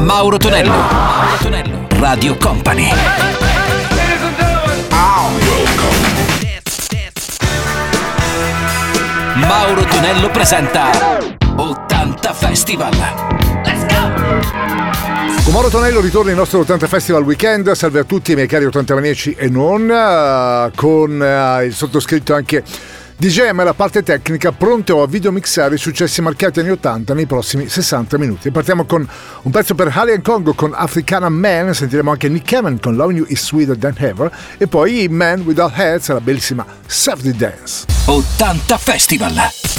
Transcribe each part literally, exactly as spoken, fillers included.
Mauro Tonello. Mauro Tonello. Radio Company. Mauro Tonello presenta ottanta Festival. Let's go! Con Mauro Tonello ritorna il nostro ottanta Festival Weekend. Salve a tutti i miei cari ottantamaniaci e non, uh, con uh, il sottoscritto anche D J M la parte tecnica, pronto a videomixare i successi marcati anni ottanta nei prossimi sessanta minuti. Partiamo con un pezzo per Alien Congo con Africana Man, sentiremo anche Nick Cave con Loving You Is Sweeter Than Ever e poi Man Without Heads, la bellissima Safety Dance. ottanta Festival.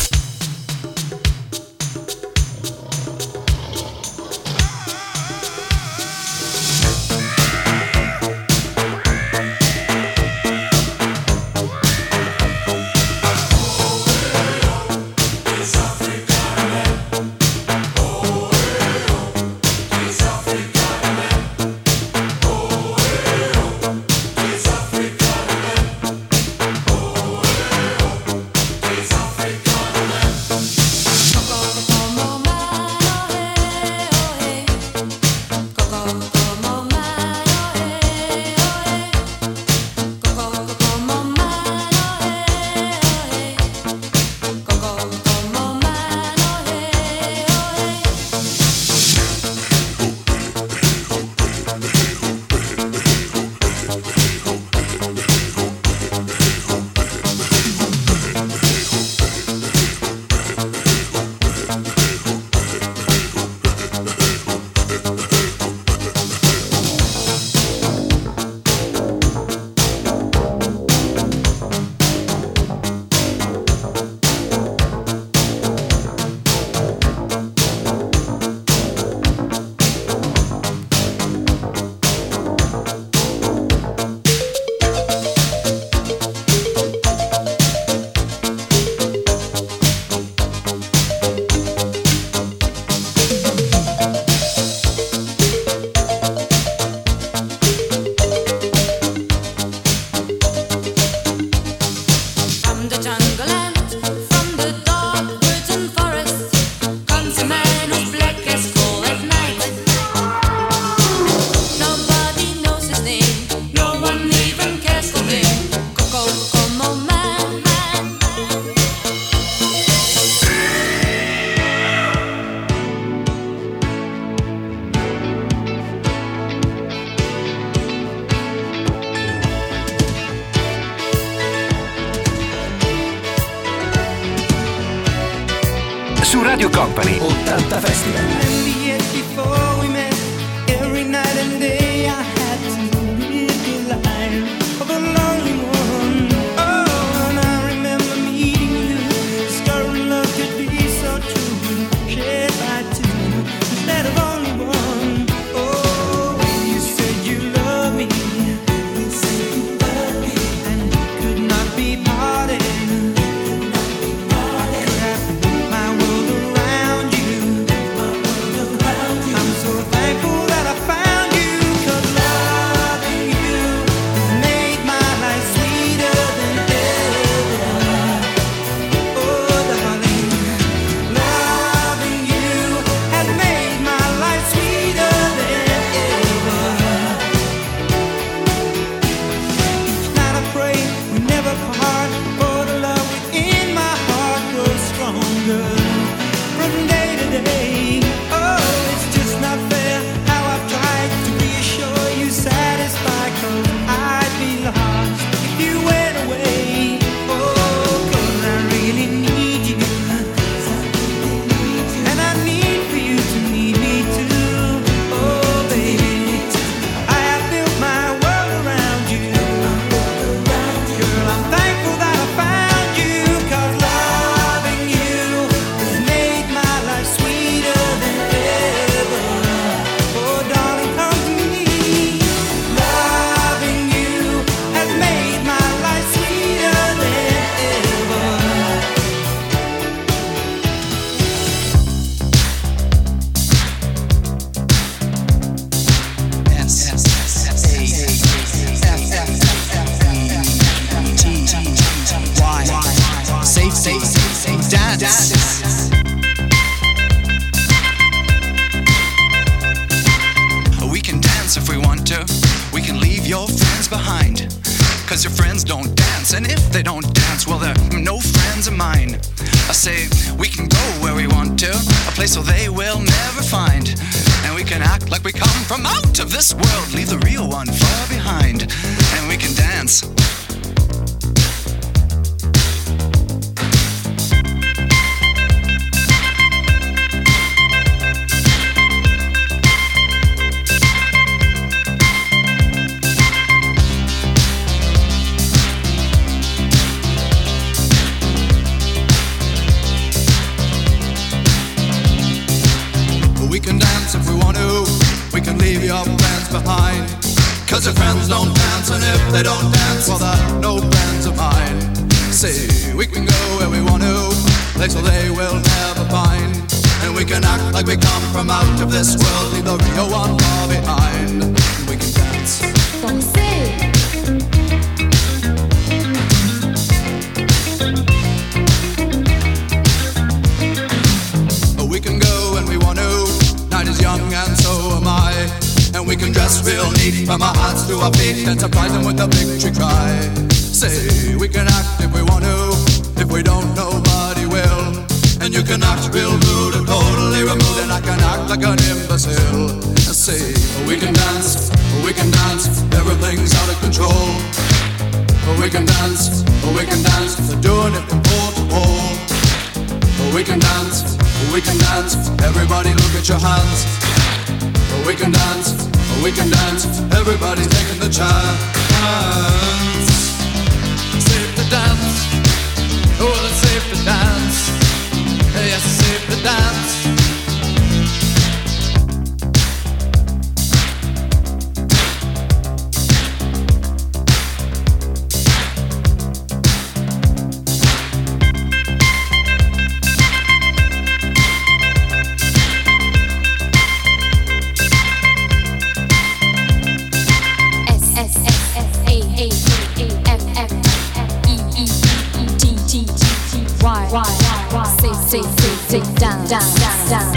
Su Radio Company ottanta Festival. dance if we want to. We can leave your friends behind, cause your friends don't dance, and if they don't dance, well, they're no friends of mine. I say we can go where we want to, a place where they will never find, and we can act like we come from out of this world, leave the real one far behind, and we can dance. We can dance if we want to, we can leave your friends behind, cause your friends don't dance, and if they don't dance, well, they're no friends of mine. Say, we can go where we want to, place where they will never find, and we can act like we come from out of this world, leave the real one far behind, and we can dance. Danser. We can go when we want to, night is young and so am I, and we can dress real neat from our hearts to our feet and surprise them with a victory cry. Say, we can act if we want to, if we don't, nobody will, and you can act real rude and totally removed, and I can act like an imbecile. Say, we can dance, we can dance, everything's out of control. We can dance, we can dance, they're doing it from pole to pole. We can dance, we can dance, everybody look at your hands. We can dance, we can dance, everybody's taking the chance. Safe to dance, oh, it's safe to dance. Yes, it's safe to dance. Down, down, down, down.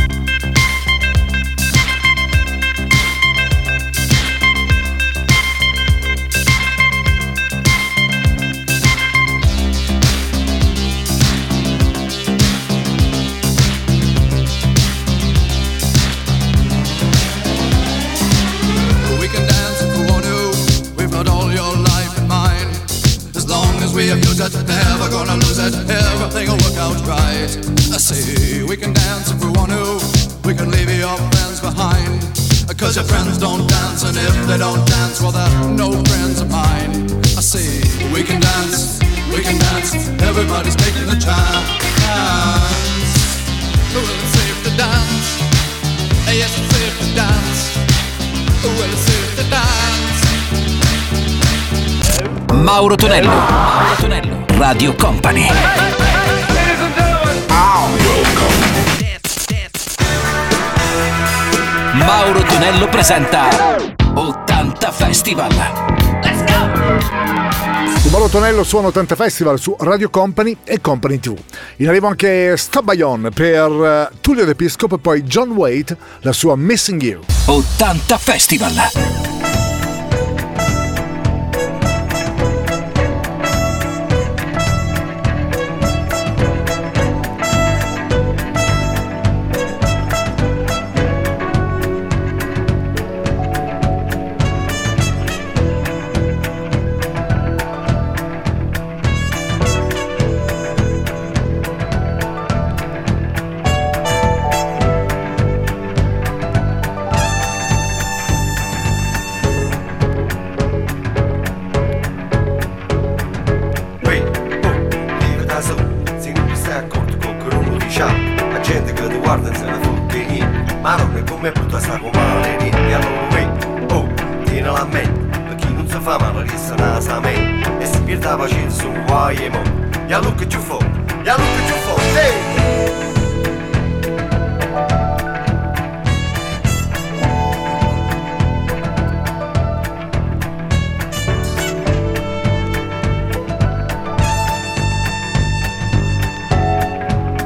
We can dance if we want to, we've got all your life in mind. As long as we abuse it, never gonna lose it, everything will work out right. I say, we can dance if we want to, we can leave your friends behind, cause your friends don't dance, and if they don't dance, well, they're no friends of mine. I say, we can dance, we can dance, everybody's taking the chance. Well, it's safe to dance, yes, it's safe to dance. Well, it's safe to dance. Mauro Tonello, Mauro Tonello, Radio Company. Mauro Tonello presenta ottanta Festival. Let's go! Mauro Tonello suona ottanta Festival su Radio Company e Company tivù. In arrivo anche Stop By On per Tullio D'Episcopo e poi John Waite, la sua Missing You. ottanta Festival.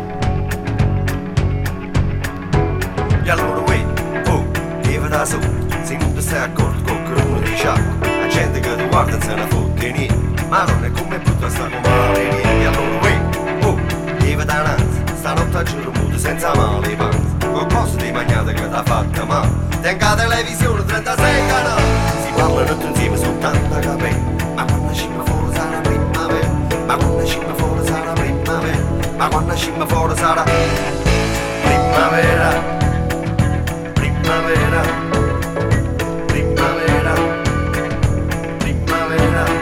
So se non ti stai accorto con qualcuno di sciacco, la gente che ti guarda se ne fotte niente, ma non è come brutta sta come male niente, allora uè, oh, lieve dananza, stanotte a giro muto senza male panza, con cose di magnate che t'ha fatta male, tenga televisione trentasei canali, si parlano tutti insieme su tanta capelli, ma quando scimma fuori sarà primavera, ma quando scimma fuori sarà primavera, ma quando scimma fuori sarà primavera, primavera, primavera, primavera.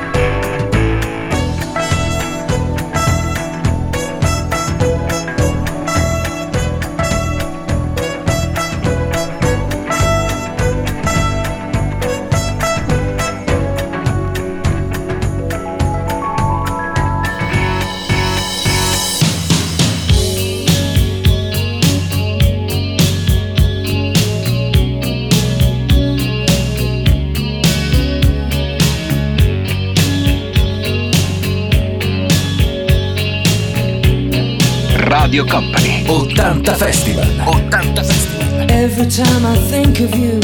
Radio Company, ottanta Festival. ottanta Festival. Every time I think of you,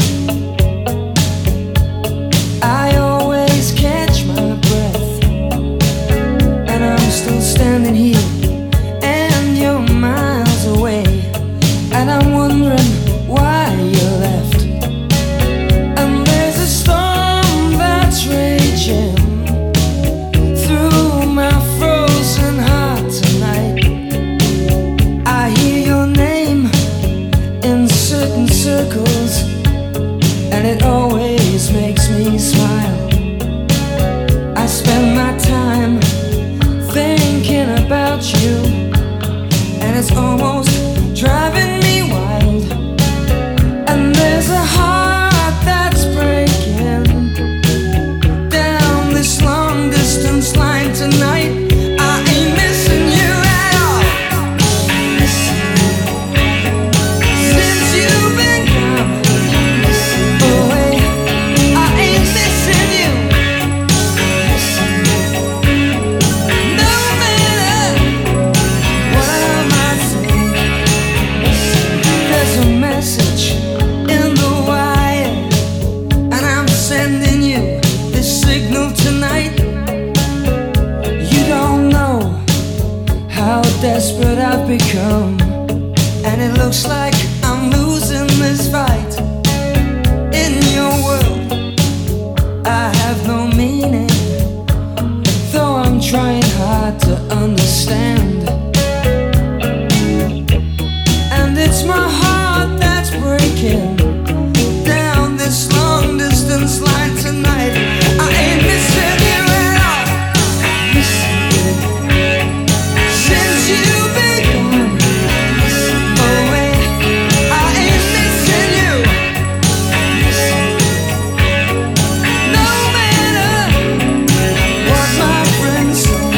I always catch my breath, and I'm still standing here, and you're miles away, and I'm wondering why you left. And there's a storm that's raging through my frozen heart tonight. I hear your name in certain circles, and it always makes me smile. I spend my time thinking about you, and it's almost driving me wild. And there's a heart that's breaking down this long distance line tonight. I ain't missing you at all. Since you've been gone away, I ain't missing you. No matter what I might say, there's a message in the wire, and I'm sending you this signal tonight. You don't know how desperate I've become, and it looks like I'm losing this fight. In your world, I have no meaning, though I'm trying hard to understand. And it's my heart that's breaking down this long distance line tonight. I ain't missing you at all. Since you've been gone away, I ain't missing you. No matter what my friends say.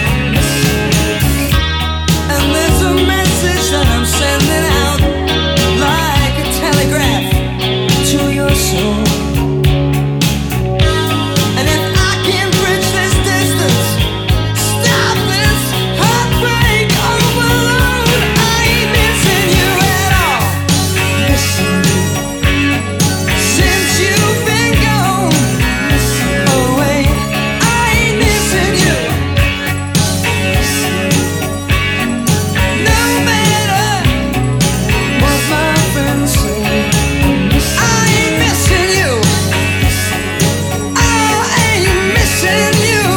And there's a message that I'm sending out like a telegraph to your soul. And if I can bridge this distance, stop this heartbreak overload, I ain't missing you at all. Missing you. Since you've been gone away, I ain't missing you. No matter what my friends say, I ain't missing you. I ain't missing you.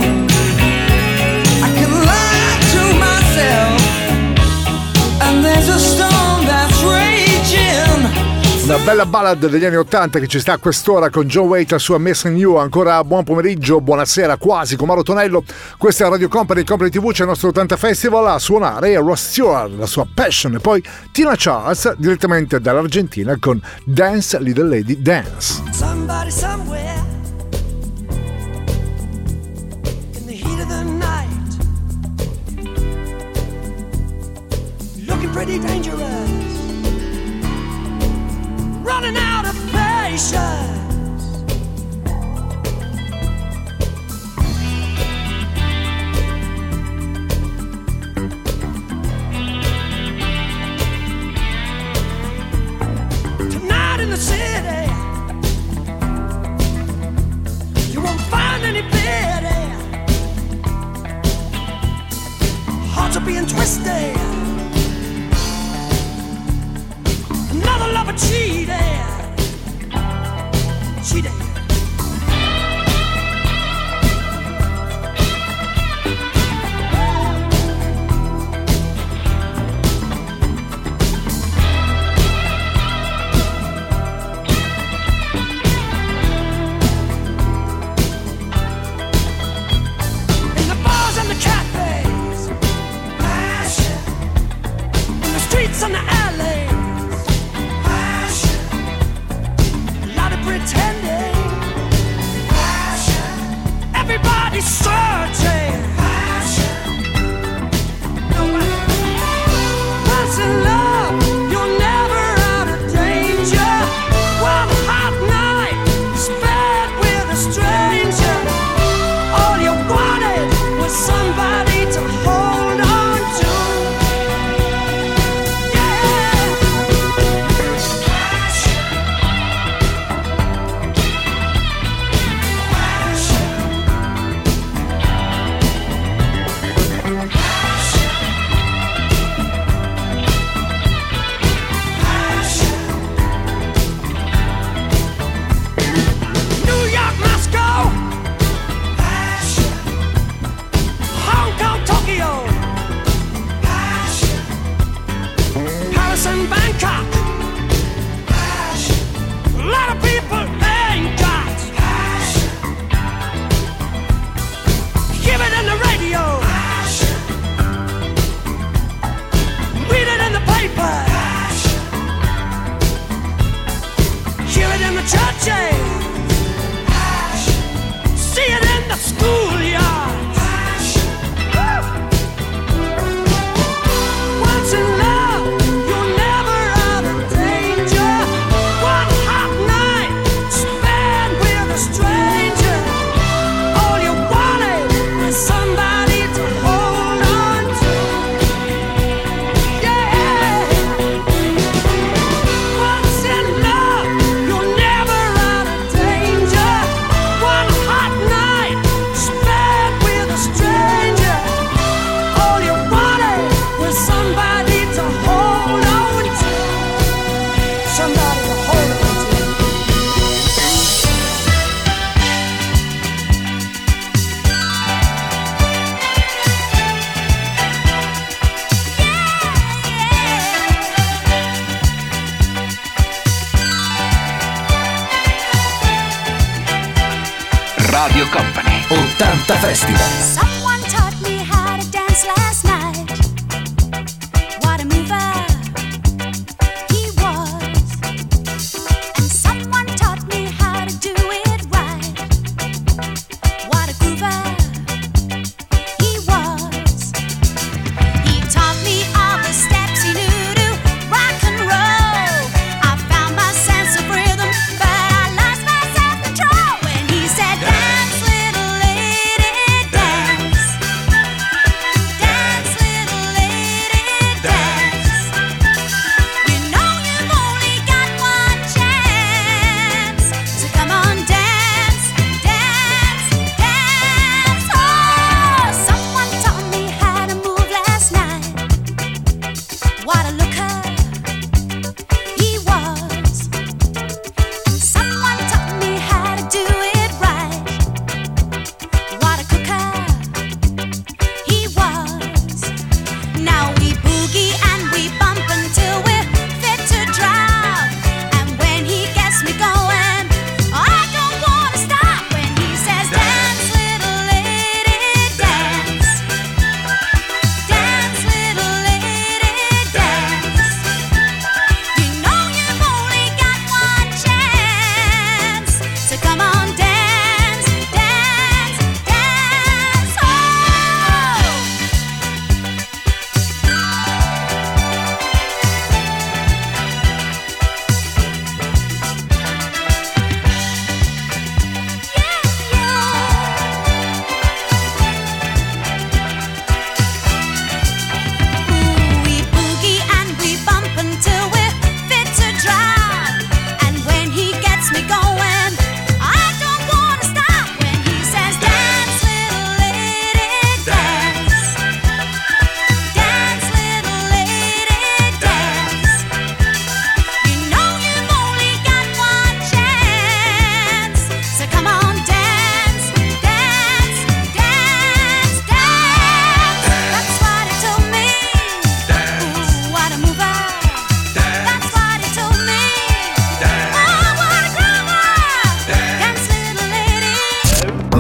I can lie to myself, and there's a storm that's raging. Una bella ballad degli anni ottanta che ci sta a quest'ora con John Waite, la sua Missing You. Ancora buon pomeriggio, buonasera quasi con Mauro Tonello. Questa è Radio Company, Company tivù, c'è il nostro ottanta Festival. A suonare Ross Stewart, la sua Passion, e poi Tina Charles direttamente dall'Argentina con Dance Little Lady Dance. Somebody somewhere in the heat of the night, looking pretty dangerous, running out of patience. Tonight in the city, any pity. Hearts are being twisted. Another lover cheated. Cheated. On the alleys, passion. A lot of pretending, passion. Everybody's searching, passion. Nobody. Once in love, you're never out of danger. One hot night spent with a stranger. All you wanted was somebody to hold on to. Radio Company ottanta Festival. Someone taught me how to dance last night. What a mover he was. And someone taught me how to do it right. What a groover he was. He taught me all the steps he knew to rock and roll. I found my sense of rhythm, but I lost my self-control when he said, dance, little lady, dance.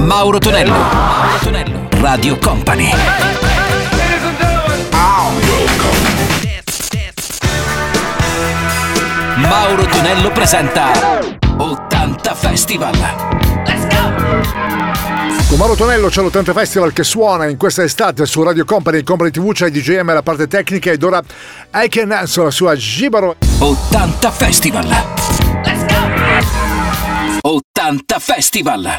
Mauro Tonello. Mauro Tonello. Radio Company. Mauro Tonello presenta ottanta Festival. Let's go! Con Mauro Tonello c'è l'ottanta Festival che suona in questa estate su Radio Company, in Company tivù c'è D J M la parte tecnica ed ora I Can Answer la sua Gibaro. ottanta Festival. Let's go! ottanta Festival.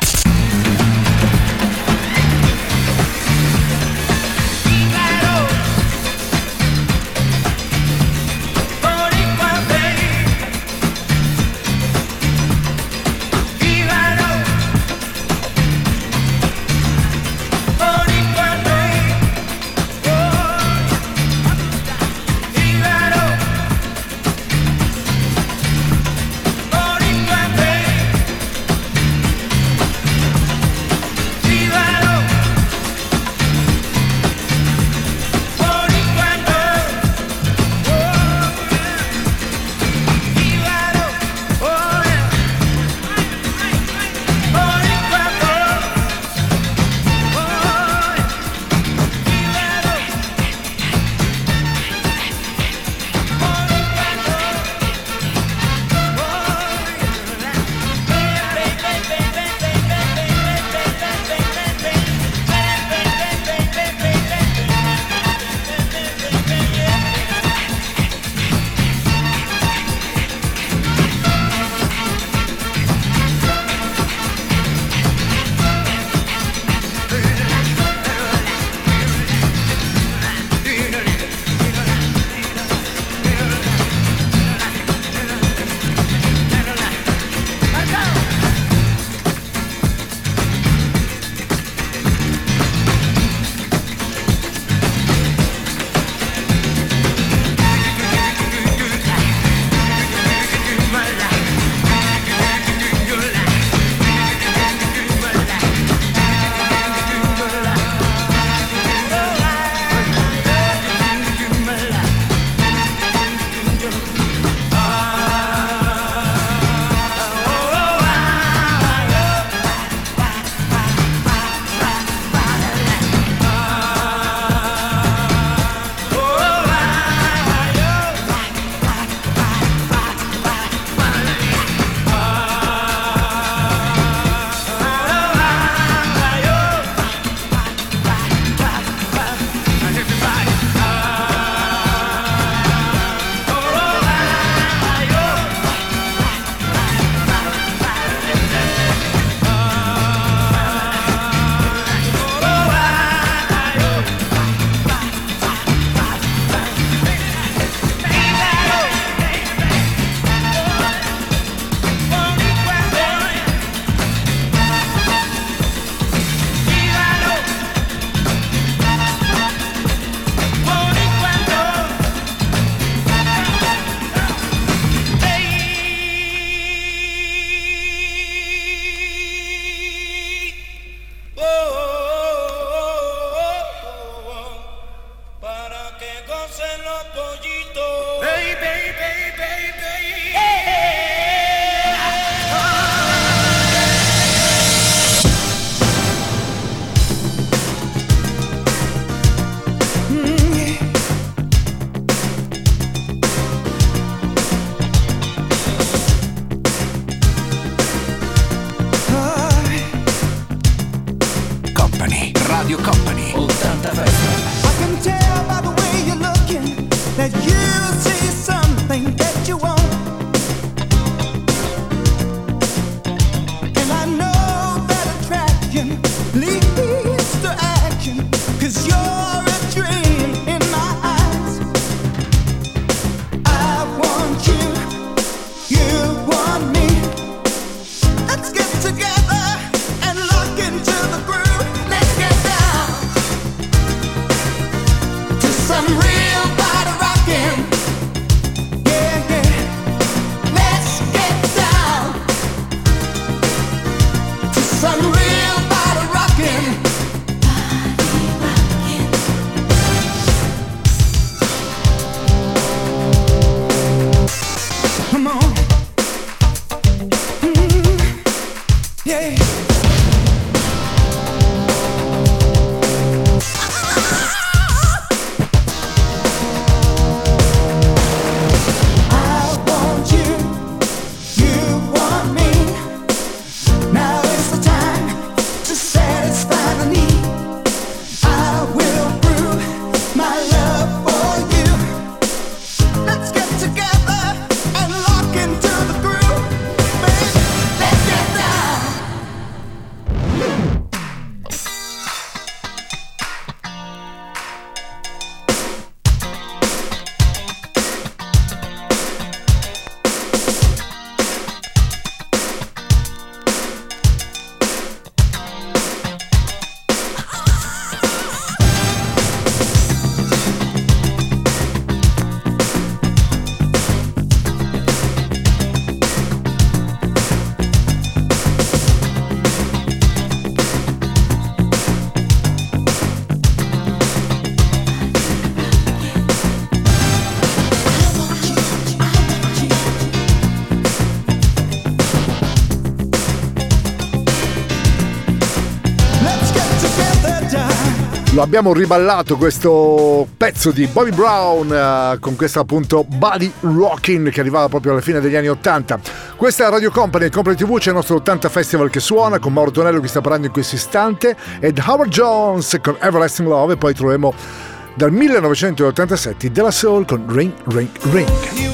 Lo abbiamo riballato questo pezzo di Bobby Brown uh, con questo appunto Body Rockin' che arrivava proprio alla fine degli anni ottanta. Questa è Radio Company, il Company tivù, c'è il nostro ottanta Festival che suona con Mauro Tonello che sta parlando in questo istante ed Howard Jones con Everlasting Love, e poi troveremo dal millenovecentottantasette della Soul con Ring Ring Ring.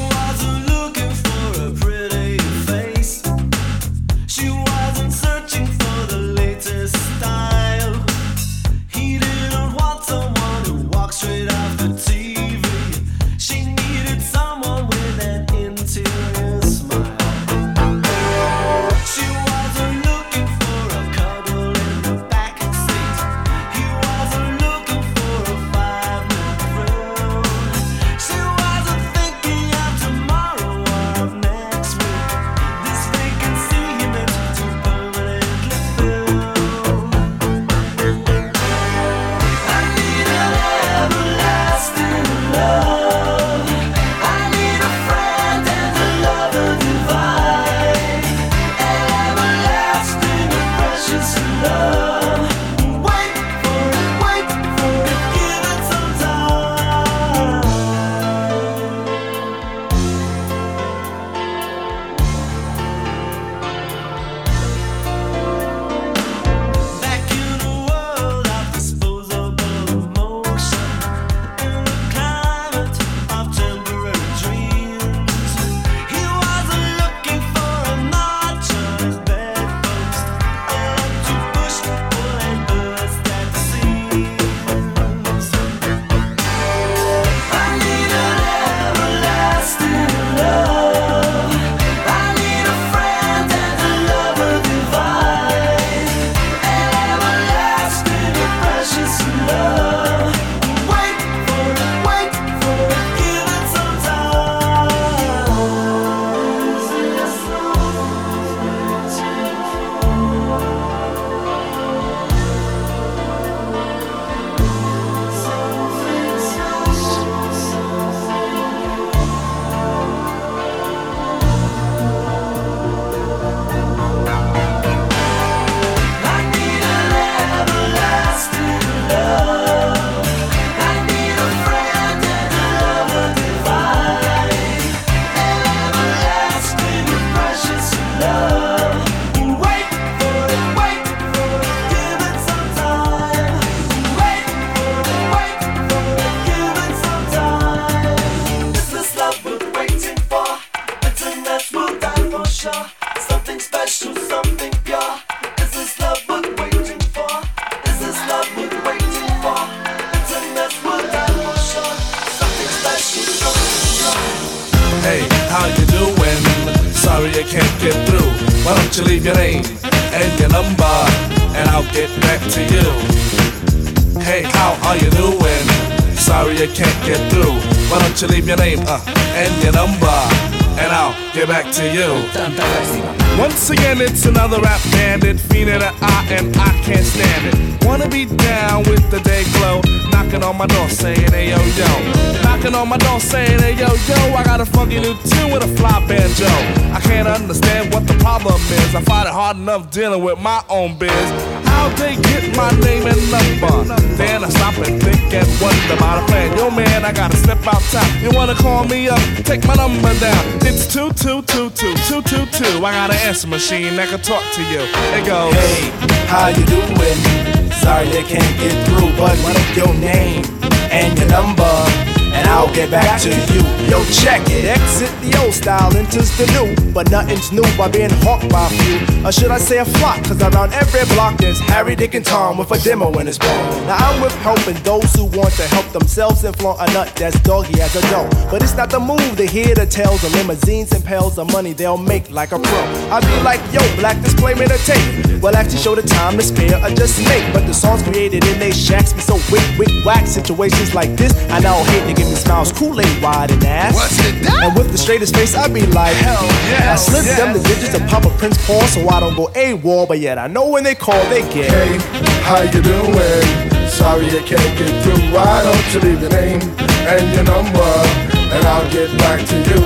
Once again, it's another rap bandit, fiend in the eye, and I can't stand it. Wanna be down with the day glow, knocking on my door saying, hey yo yo. Knocking on my door saying, hey yo yo, I got a funky new tune with a fly banjo. I can't understand what the problem is, I find it hard enough dealing with my own biz. How'd they get my name and number? Then I stop and think and wonder about a plan. Yo man, I gotta step outside. You wanna call me up? Take my number down. It's two two two two two two two. I got an answer machine that can talk to you. It goes, hey, how you doing? Sorry I can't get through, but what is your name and your number? And I'll get back to you. Yo, check it. Exit the old style, enters the new. But nothing's new by being hawked by a few. Or should I say a flock? Cause around every block there's Harry, Dick, and Tom with a demo in his palm. Now I'm with helping those who want to help themselves and flaunt a nut that's doggy as a dough. But it's not the move to hear the tales of limousines and pails of money they'll make like a pro. I be like, yo, black display made a tape. Well, actually show the time to spare or just make. But the songs created in they shacks be so wick, wick, whack. Situations like this, I now hate to give me smiles, Kool-Aid wide and ass. What's it that? And with the straightest face, I be like, hell yeah. I slip yes. them the digits of Papa Prince Paul so I don't go AWOL. But yet I know when they call, they get. Hey, how you doing? Sorry I can't get through. Why don't you leave your name and your number, and I'll get back to you.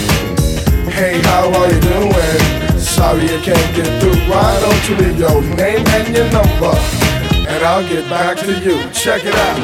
Hey, how are you doing? Sorry I can't get through. Why don't you leave your name and your number, and and I'll get back to you. Check it out.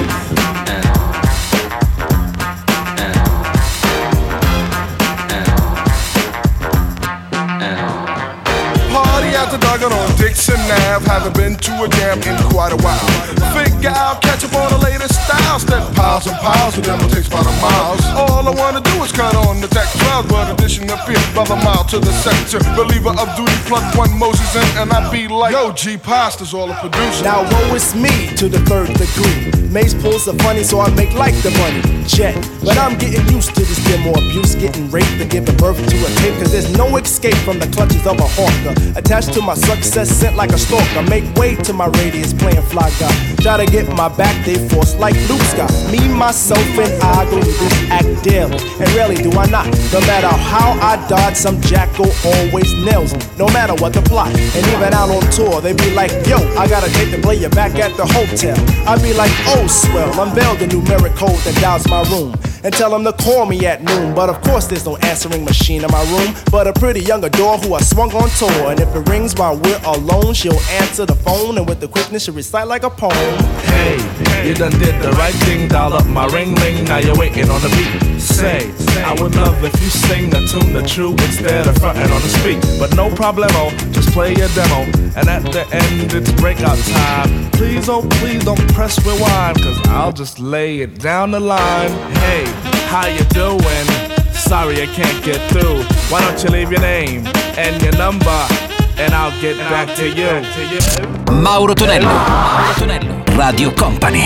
Party after dark on Dixon Ave. Haven't been to a jam in quite a while. Figure I'll catch up on the latest styles. That piles and piles of them will take about a mile. All I wanna do is cut on the tech twelve, but addition appears brother mile to the sector. Believer of duty, plug one Moses in, and I be like, yo, G Pasta's all the producer. Now woe is me to the third degree. Mace pulls the funny, so I make like the money. Jet, but I'm getting used to this demo abuse, getting raped and giving birth to a tape. Cause there's no escape from the clutches of a hawker. Attached to my success, sent like a stalker. Make way to my radius, playing fly guy. Try to get my back, they force like Luke Scott. Me, myself, and I go to this act daily. And rarely do I not. No matter how I dodge, some jackal always nails me. No matter what the plot. And even out on tour, they be like, yo, I got a date to play you back at the hotel. I be like, oh, swell, unveil the numeric code that dials my room. And tell them to call me at noon. But of course there's no answering machine in my room, but a pretty young adore who I swung on tour. And if it rings while we're alone, she'll answer the phone, and with the quickness she'll recite like a poem. Hey, you done did the right thing, dial up my ring ring, now you're waiting on the beat. Say, I would love if you sing a tune the true instead of frontin' on the speak. But no problemo, just play your demo, and at the end it's breakout time. Please, oh please don't press rewind, cause I'll just lay it down the line. Hey, how you doing? Sorry I can't get through. Why don't you leave your name and your number, and I'll get back to you. Mauro Tonello, Mauro Tonello, Radio Company.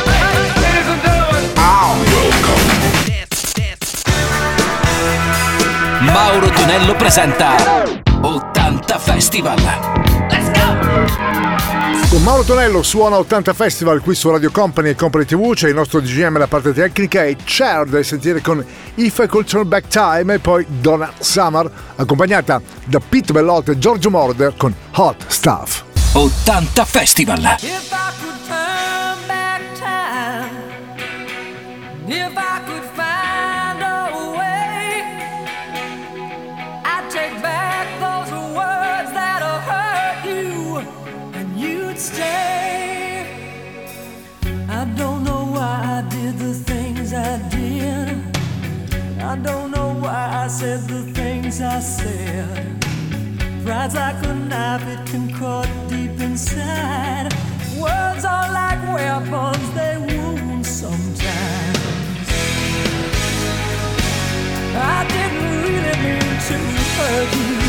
Mauro Tonello presenta ottanta Festival. Let's go! Con Mauro Tonello suona ottanta Festival qui su Radio Company e Company tivù. C'è il nostro D J M, la parte tecnica, e Cher da sentire con If I Could Turn Back Time, e poi Donna Summer accompagnata da Pete Bellotte e Giorgio Moroder con Hot Stuff. ottanta Festival. If I could turn back time, if I could find a way, I'd take back those words that hurt you, and you'd stay. I don't know why I did the things I did. I don't know why I said the things I said. Pride's like a knife, it can cut deep inside. Words are like weapons, they wound sometimes. I didn't really mean to hurt you.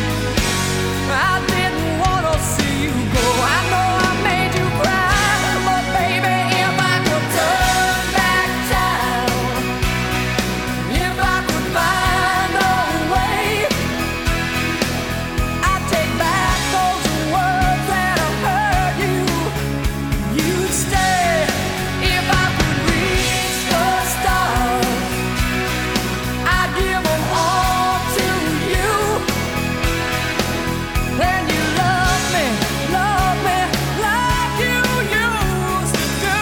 I didn't want to see you go. I know I made you cry, but baby, if I could turn back time, if I could find a way, I'd take back those words that hurt you. You'd stay. If I could reach the stars, I'd give them all to you. Then you love me, love me like you used to do.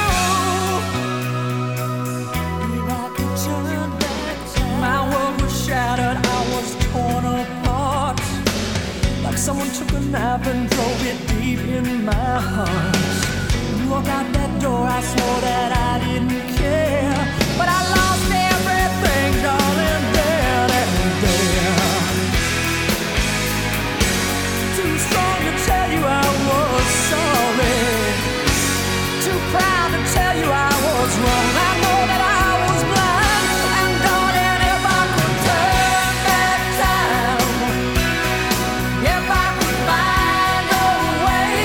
If I could turn back time, my world was shattered, I was torn apart. Like someone took a knife and drove it deep in my heart. You walk out that door, I swore that I didn't care, but I lost everything, darling, there and there. Too strong to tell you I was sorry, too proud to tell you I was wrong. I know that I was blind, and darling, if I could turn back time, if I could find a way,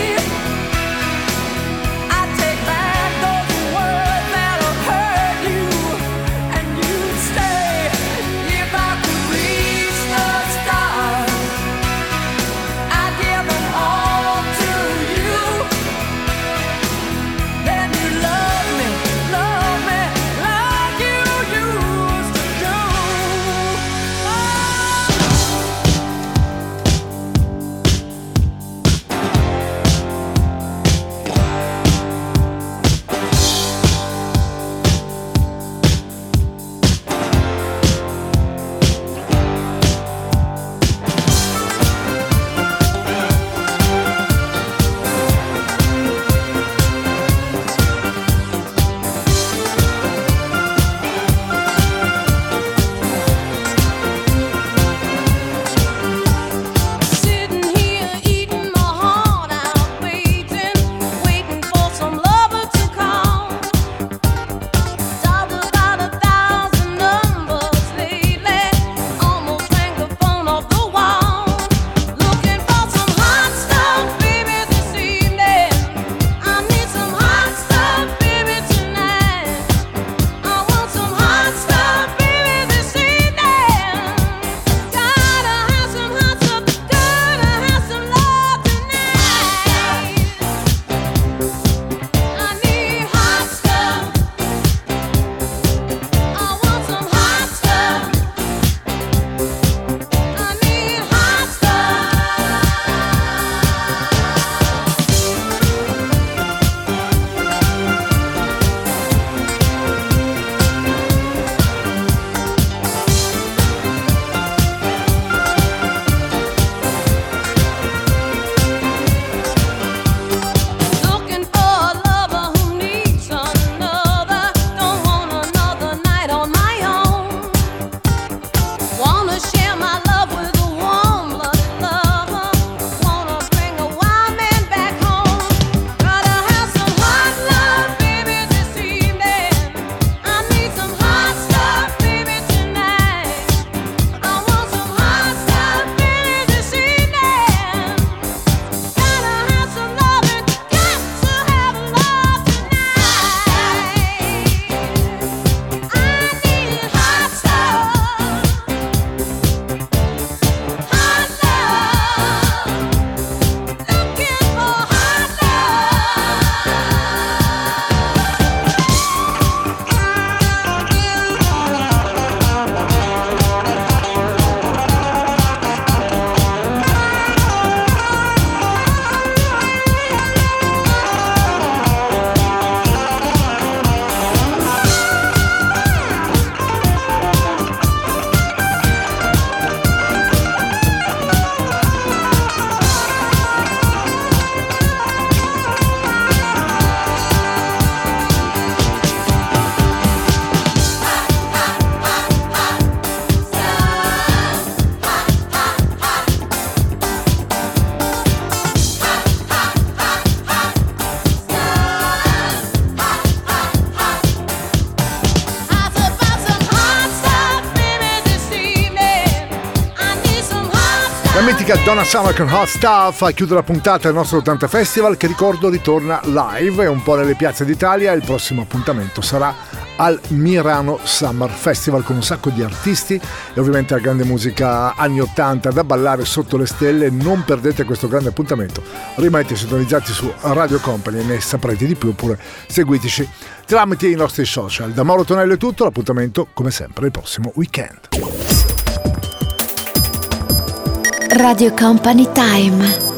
I'd take back those words that hurt you, and you mitica Donna Summer con Hot Stuff a chiudere la puntata del nostro ottanta Festival, che ricordo ritorna live e un po' nelle piazze d'Italia. Il prossimo appuntamento sarà al Mirano Summer Festival con un sacco di artisti e ovviamente la grande musica anni ottanta da ballare sotto le stelle. Non perdete questo grande appuntamento, rimanete sintonizzati su Radio Company e ne saprete di più, oppure seguiteci tramite i nostri social. Da Mauro Tonello è tutto, l'appuntamento come sempre il prossimo weekend. Radio Company Time.